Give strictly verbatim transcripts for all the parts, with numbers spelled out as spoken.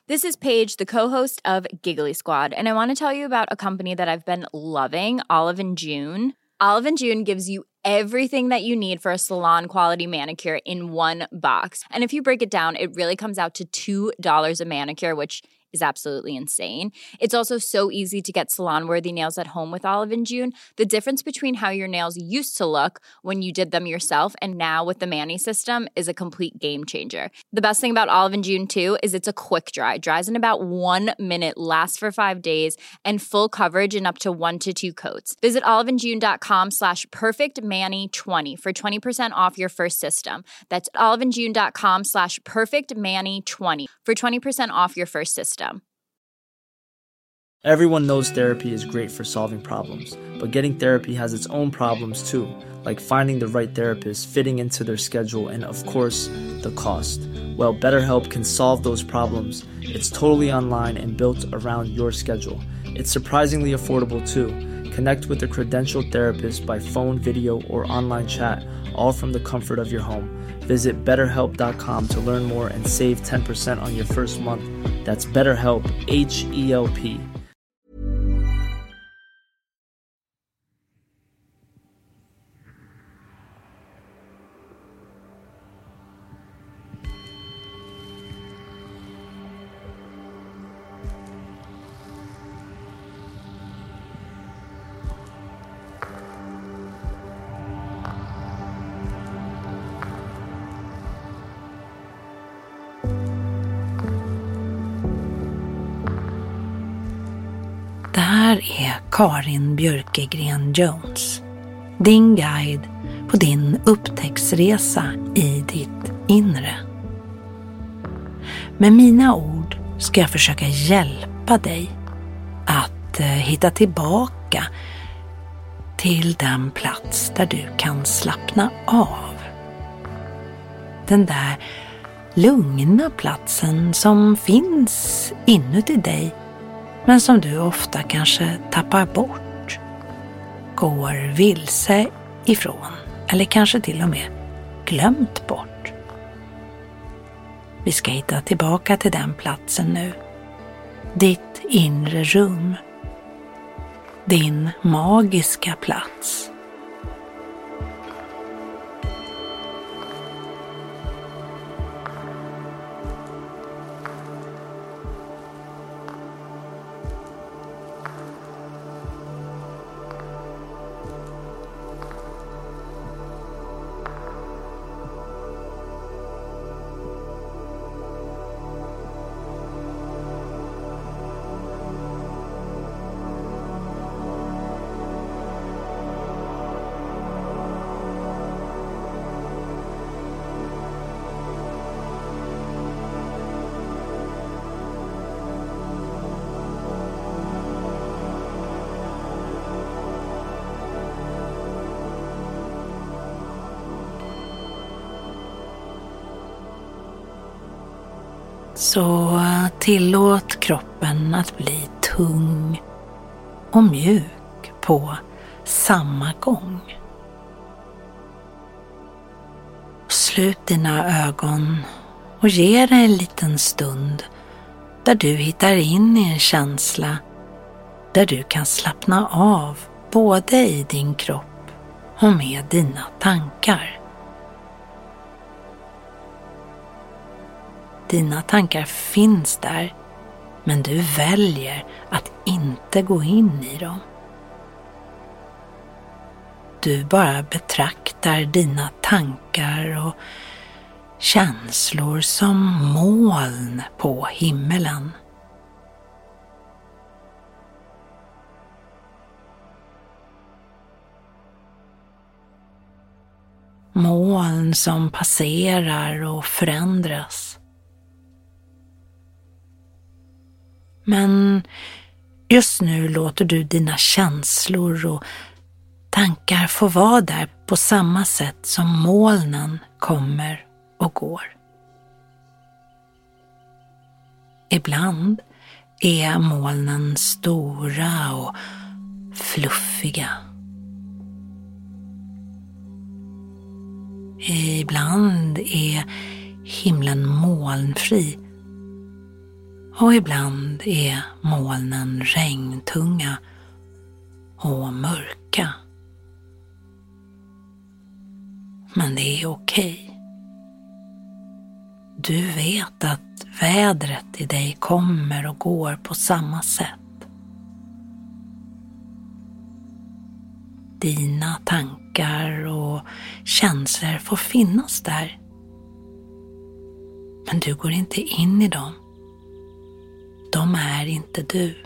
This is Paige, the co-host of Giggly Squad, and I want to tell you about a company that I've been loving, Olive and June. Olive and June gives you everything that you need for a salon-quality manicure in one box. And if you break it down, it really comes out to two dollars a manicure, which is absolutely insane. It's also so easy to get salon-worthy nails at home with Olive and June. The difference between how your nails used to look when you did them yourself and now with the Mani system is a complete game changer. The best thing about Olive and June, too, is it's a quick dry. Dries in about one minute, lasts for five days, and full coverage in up to one to two coats. Visit oliveandjune.com slash perfectmani20 for twenty percent off your first system. That's oliveandjune.com slash perfectmani20 for twenty percent off your first system. Everyone knows therapy is great for solving problems, but getting therapy has its own problems too, like finding the right therapist, fitting into their schedule, and of course, the cost. Well, BetterHelp can solve those problems. It's totally online and built around your schedule. It's surprisingly affordable too. Connect with a credentialed therapist by phone, video, or online chat, all from the comfort of your home. Visit better help dot com to learn more and save ten percent on your first month. That's BetterHelp, H E L P. Det här är Karin Björkegren Jones, din guide på din upptäcktsresa i ditt inre. Med mina ord ska jag försöka hjälpa dig att hitta tillbaka till den plats där du kan slappna av. Den där lugna platsen som finns inuti dig, men som du ofta kanske tappar bort, går vilse ifrån eller kanske till och med glömt bort. Vi ska hitta tillbaka till den platsen nu. Ditt inre rum. Din magiska plats. Så tillåt kroppen att bli tung och mjuk på samma gång. Slut dina ögon och ge dig en liten stund där du hittar in i en känsla där du kan slappna av både i din kropp och med dina tankar. Dina tankar finns där, men du väljer att inte gå in i dem. Du bara betraktar dina tankar och känslor som moln på himmelen. Moln som passerar och förändras. Men just nu låter du dina känslor och tankar få vara där på samma sätt som molnen kommer och går. Ibland är molnen stora och fluffiga. Ibland är himlen molnfri Och ibland är molnen regntunga och mörka. Men det är okej. Du vet att vädret i dig kommer och går på samma sätt. Dina tankar och känslor får finnas där. Men du går inte in i dem. De är inte du.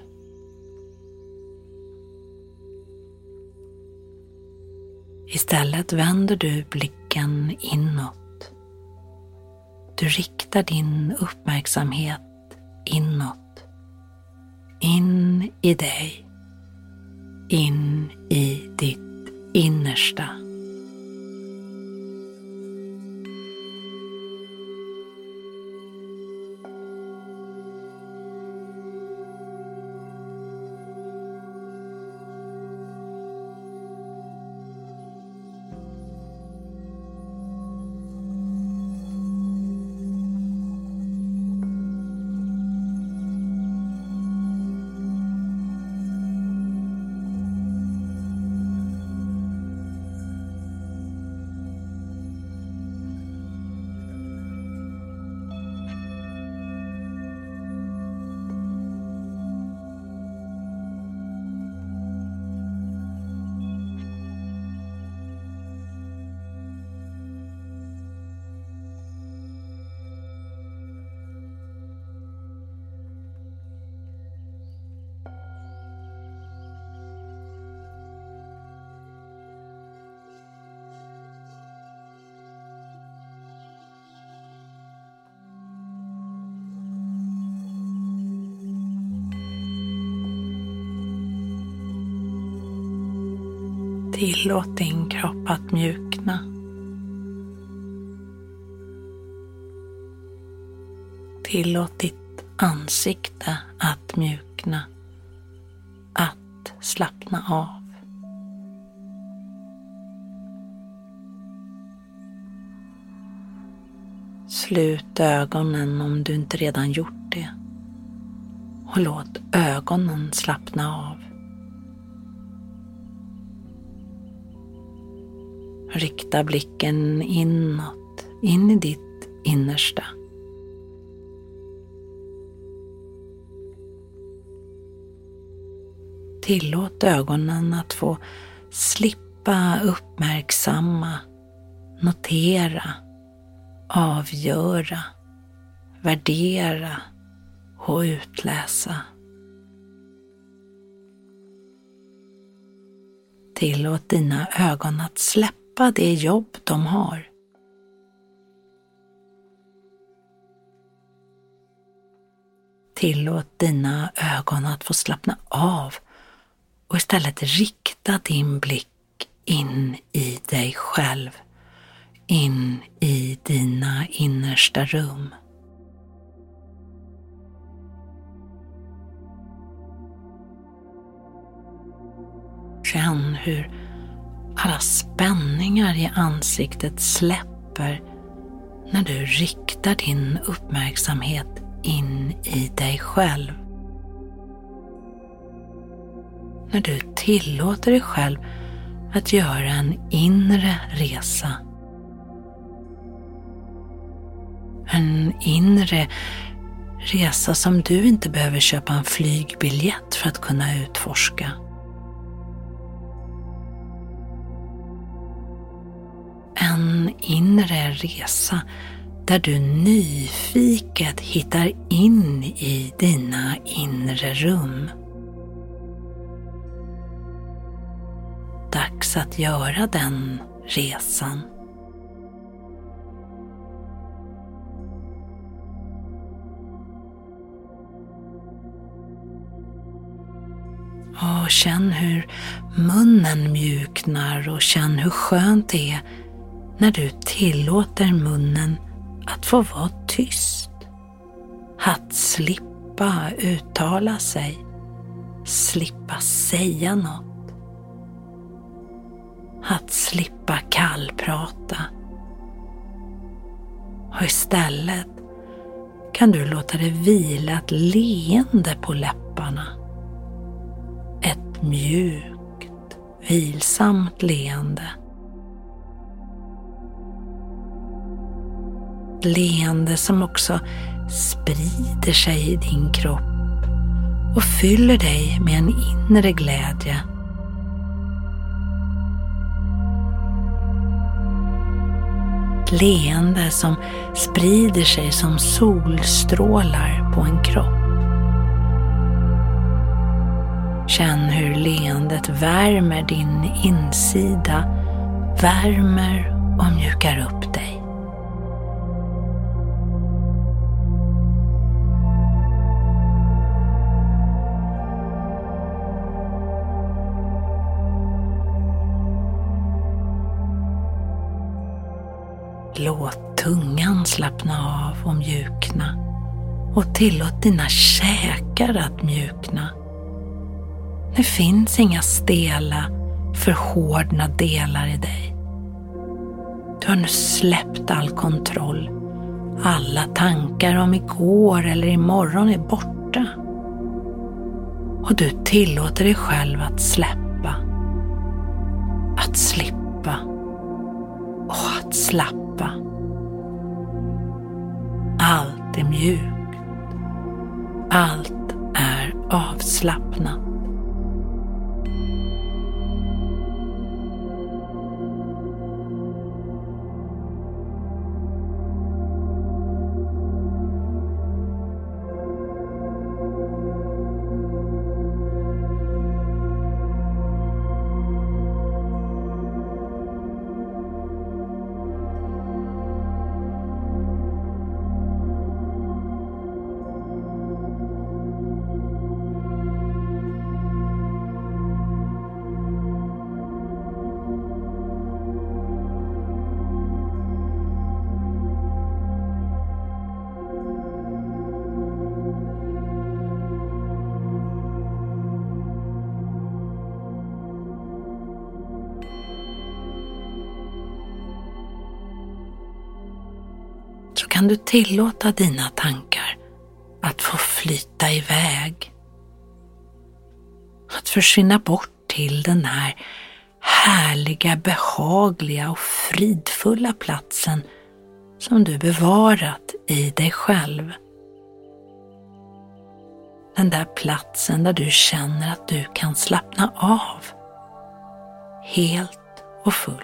Istället vänder du blicken inåt. Du riktar din uppmärksamhet inåt. In i dig. In i ditt innersta. Tillåt din kropp att mjukna. Tillåt ditt ansikte att mjukna. Att slappna av. Slut ögonen om du inte redan gjort det. Och låt ögonen slappna av. Rikta blicken inåt, in i ditt innersta. Tillåt ögonen att få slippa uppmärksamma, notera, avgöra, värdera och utläsa. Tillåt dina ögon att släppa det jobb de har. Tillåt dina ögon att få slappna av och istället rikta din blick in i dig själv, in i dina innersta rum. Känn hur alla spänningar i ansiktet släpper när du riktar din uppmärksamhet in i dig själv. När du tillåter dig själv att göra en inre resa. En inre resa som du inte behöver köpa en flygbiljett för att kunna utforska. En inre resa där du nyfiket hittar in i dina inre rum. Dags att göra den resan. Och känn hur munnen mjuknar och känn hur skönt det är när du tillåter munnen att få vara tyst. Att slippa uttala sig, slippa säga något. Att slippa kallprata. Och istället kan du låta det vila ett leende på läpparna. Ett mjukt, vilsamt leende. Ett leende som också sprider sig i din kropp och fyller dig med en inre glädje. Ett leende som sprider sig som solstrålar på en kropp. Känn hur leendet värmer din insida, värmer och mjukar upp dig. Låt tungan slappna av och mjukna och tillåt dina käkar att mjukna. Det finns inga stela, förhårdna delar i dig. Du har nu släppt all kontroll. Alla tankar om igår eller imorgon är borta. Och du tillåter dig själv att släppa, att slippa och att slappa. Allt är mjukt. Allt är avslappnat. Så kan du tillåta dina tankar att få flyta iväg. Att försvinna bort till den här härliga, behagliga och fridfulla platsen som du bevarat i dig själv. Den där platsen där du känner att du kan slappna av. Helt och fullt.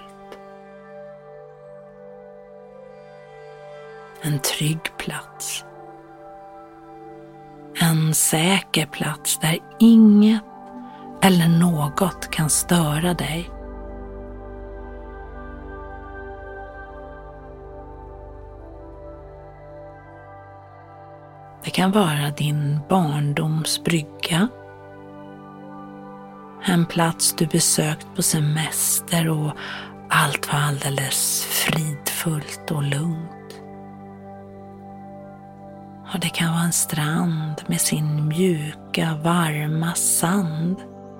En trygg plats. En säker plats där inget eller något kan störa dig. Det kan vara din barndoms brygga. En plats du besökt på semester och allt var alldeles fridfullt och lugnt. Och det kan vara en strand med sin mjuka, varma sand.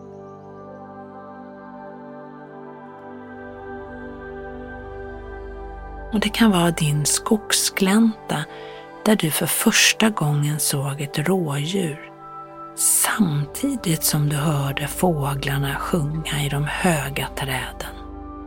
Och det kan vara din skogsglänta där du för första gången såg ett rådjur samtidigt som du hörde fåglarna sjunga i de höga träden.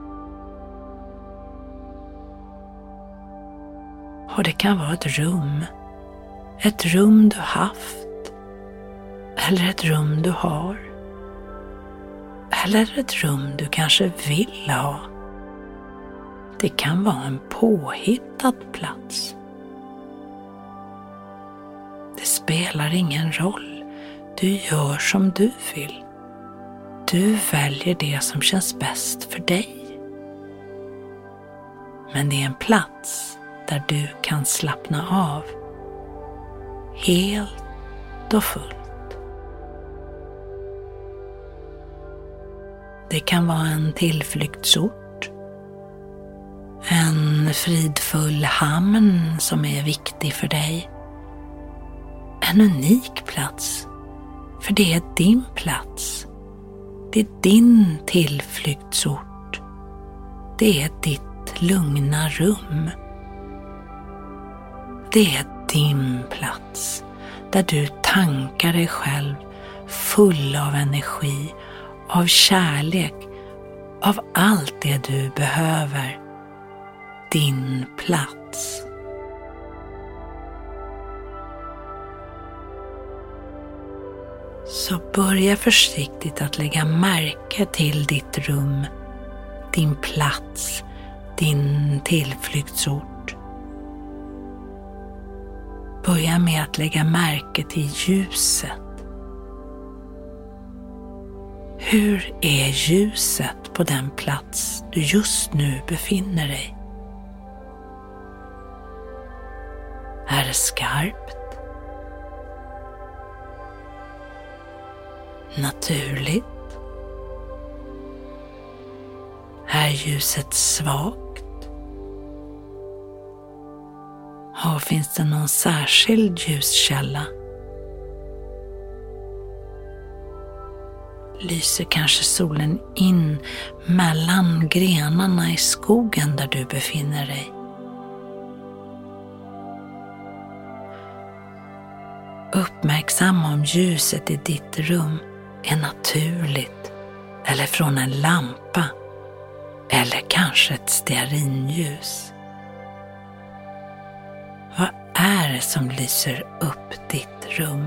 Och det kan vara ett rum. Ett rum du haft. Eller ett rum du har. Eller ett rum du kanske vill ha. Det kan vara en påhittad plats. Det spelar ingen roll. Du gör som du vill. Du väljer det som känns bäst för dig. Men det är en plats där du kan slappna av. Helt och fullt. Det kan vara en tillflyktsort. En fridfull hamn som är viktig för dig. En unik plats. För det är din plats. Det är din tillflyktsort. Det är ditt lugna rum. Det är din plats, där du tankar dig själv full av energi, av kärlek, av allt det du behöver. Din plats. Så börja försiktigt att lägga märke till ditt rum, din plats, din tillflyktsort. Börja med att lägga märke till ljuset. Hur är ljuset på den plats du just nu befinner dig? Är det skarpt? Naturligt? Är ljuset svagt? Och finns det någon särskild ljuskälla? Lyser kanske solen in mellan grenarna i skogen där du befinner dig? Uppmärksamma om ljuset i ditt rum är naturligt eller från en lampa eller kanske ett stearinljus. Vad är det som lyser upp ditt rum?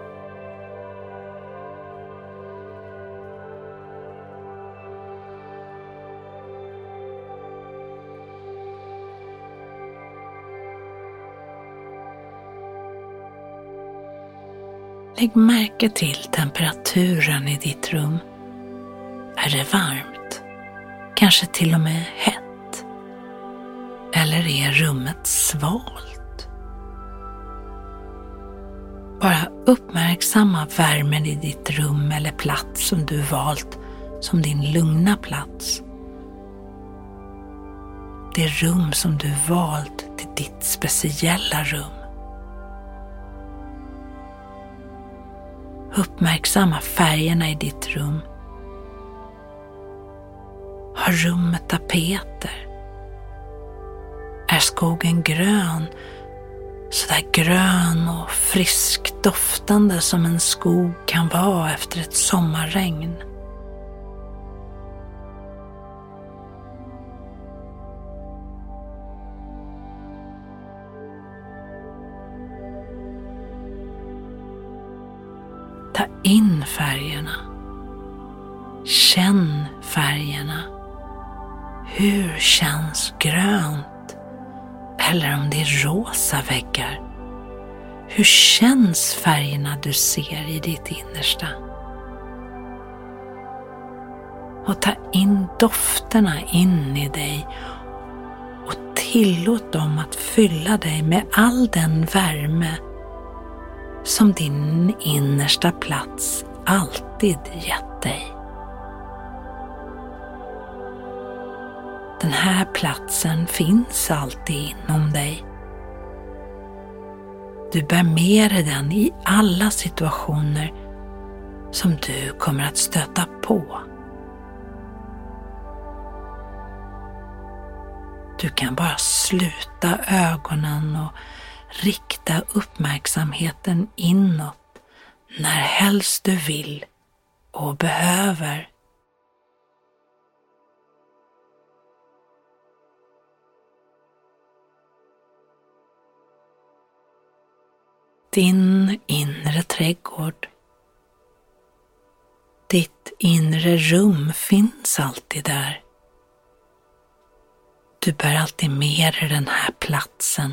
Lägg märke till temperaturen i ditt rum. Är det varmt? Kanske till och med hett? Eller är rummet svalt? Bara uppmärksamma värmen i ditt rum eller plats som du valt som din lugna plats. Det rum som du valt till ditt speciella rum. Uppmärksamma färgerna i ditt rum. Har rummet tapeter? Är skogen grön? Så där grön och frisk doftande som en skog kan vara efter ett sommarregn. Ta in färgerna. Känn färgerna. Hur känns grönt? Eller om det är rosa väggar. Hur känns färgerna du ser i ditt innersta? Och ta in dofterna in i dig och tillåt dem att fylla dig med all den värme som din innersta plats alltid gett dig. Den här platsen finns alltid inom dig. Du bär med dig den i alla situationer som du kommer att stöta på. Du kan bara sluta ögonen och rikta uppmärksamheten inåt när helst du vill och behöver. Din inre trädgård. Ditt inre rum finns alltid där. Du bär alltid med dig den här platsen.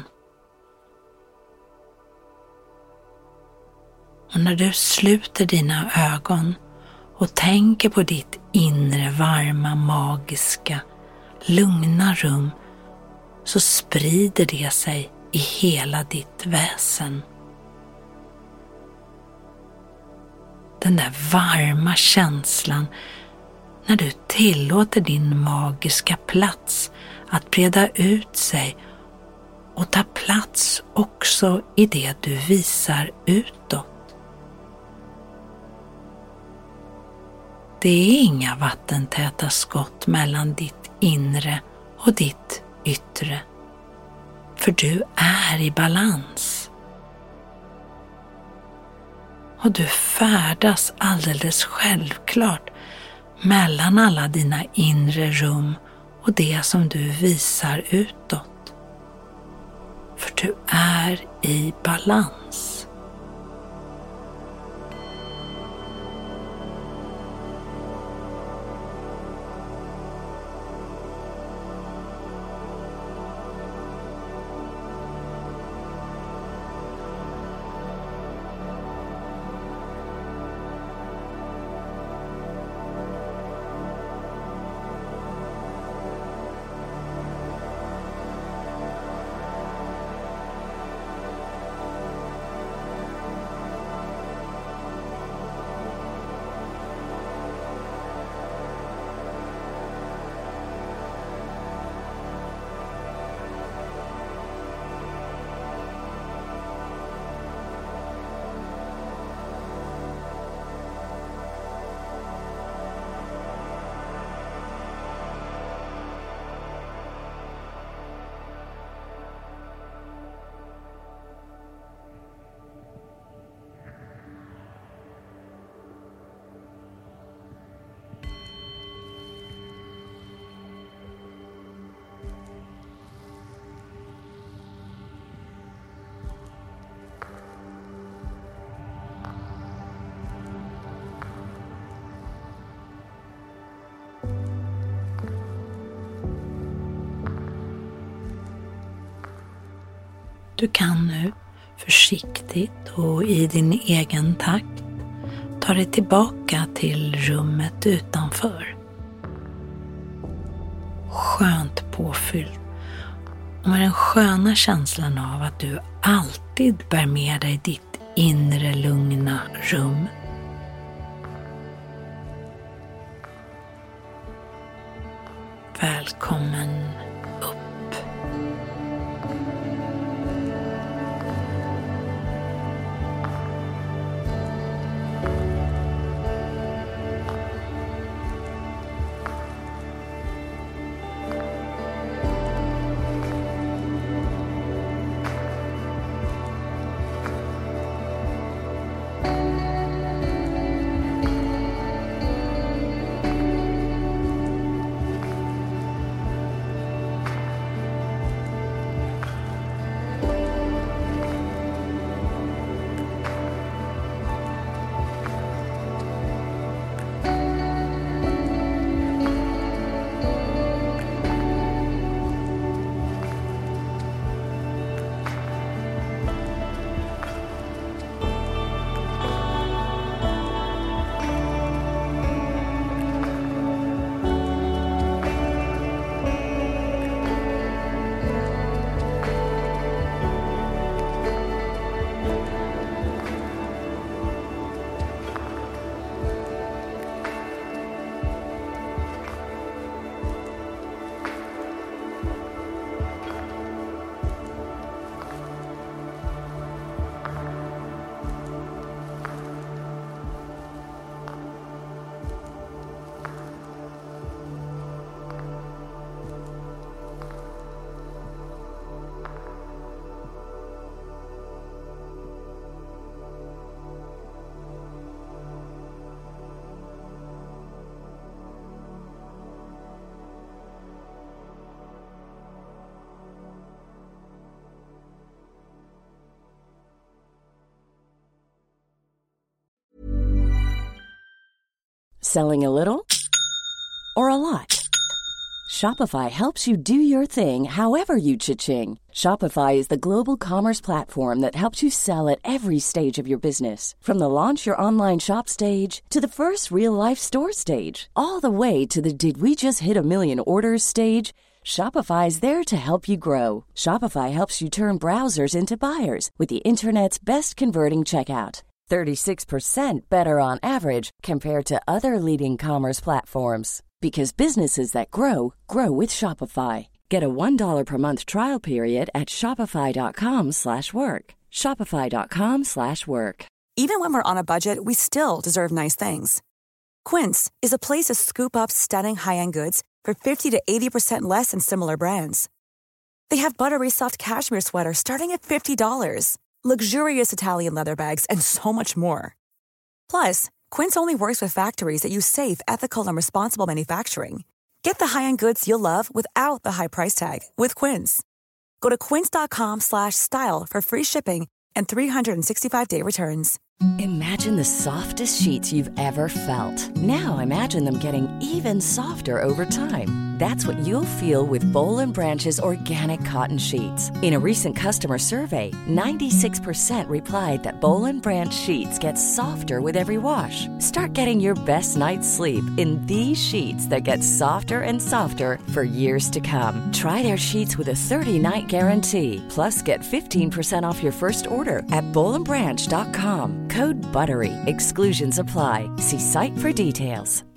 Och när du sluter dina ögon och tänker på ditt inre varma, magiska, lugna rum så sprider det sig i hela ditt väsen. Den där varma känslan när du tillåter din magiska plats att breda ut sig och ta plats också i det du visar utåt. Det är inga vattentäta skott mellan ditt inre och ditt yttre. För du är i balans. Och du färdas alldeles självklart mellan alla dina inre rum och det som du visar utåt. För du är i balans. Du kan nu försiktigt och i din egen takt ta dig tillbaka till rummet utanför. Skönt påfyllt och med den sköna känslan av att du alltid bär med dig ditt inre lugna rum. Välkommen upp. Selling a little or a lot? Shopify helps you do your thing however you cha-ching. Shopify is the global commerce platform that helps you sell at every stage of your business. From the launch your online shop stage to the first real-life store stage, all the way to the did we just hit a million orders stage. Shopify is there to help you grow. Shopify helps you turn browsers into buyers with the internet's best converting checkout. thirty-six percent better on average compared to other leading commerce platforms. Because businesses that grow, grow with Shopify. Get a one dollar per month trial period at shopify.com slash work. Shopify.com slash work. Even when we're on a budget, we still deserve nice things. Quince is a place to scoop up stunning high-end goods for fifty to eighty percent less than similar brands. They have buttery soft cashmere sweaters starting at fifty dollars, luxurious Italian leather bags, and so much more. Plus, Quince only works with factories that use safe, ethical, and responsible manufacturing. Get the high-end goods you'll love without the high price tag with Quince. Go to quince.com slash style for free shipping and three sixty-five day returns. Imagine the softest sheets you've ever felt. Now imagine them getting even softer over time. That's what you'll feel with Boll and Branch's organic cotton sheets. In a recent customer survey, ninety-six percent replied that Boll and Branch sheets get softer with every wash. Start getting your best night's sleep in these sheets that get softer and softer for years to come. Try their sheets with a thirty-night guarantee. Plus, get fifteen percent off your first order at boll and branch dot com. Code BUTTERY. Exclusions apply. See site for details.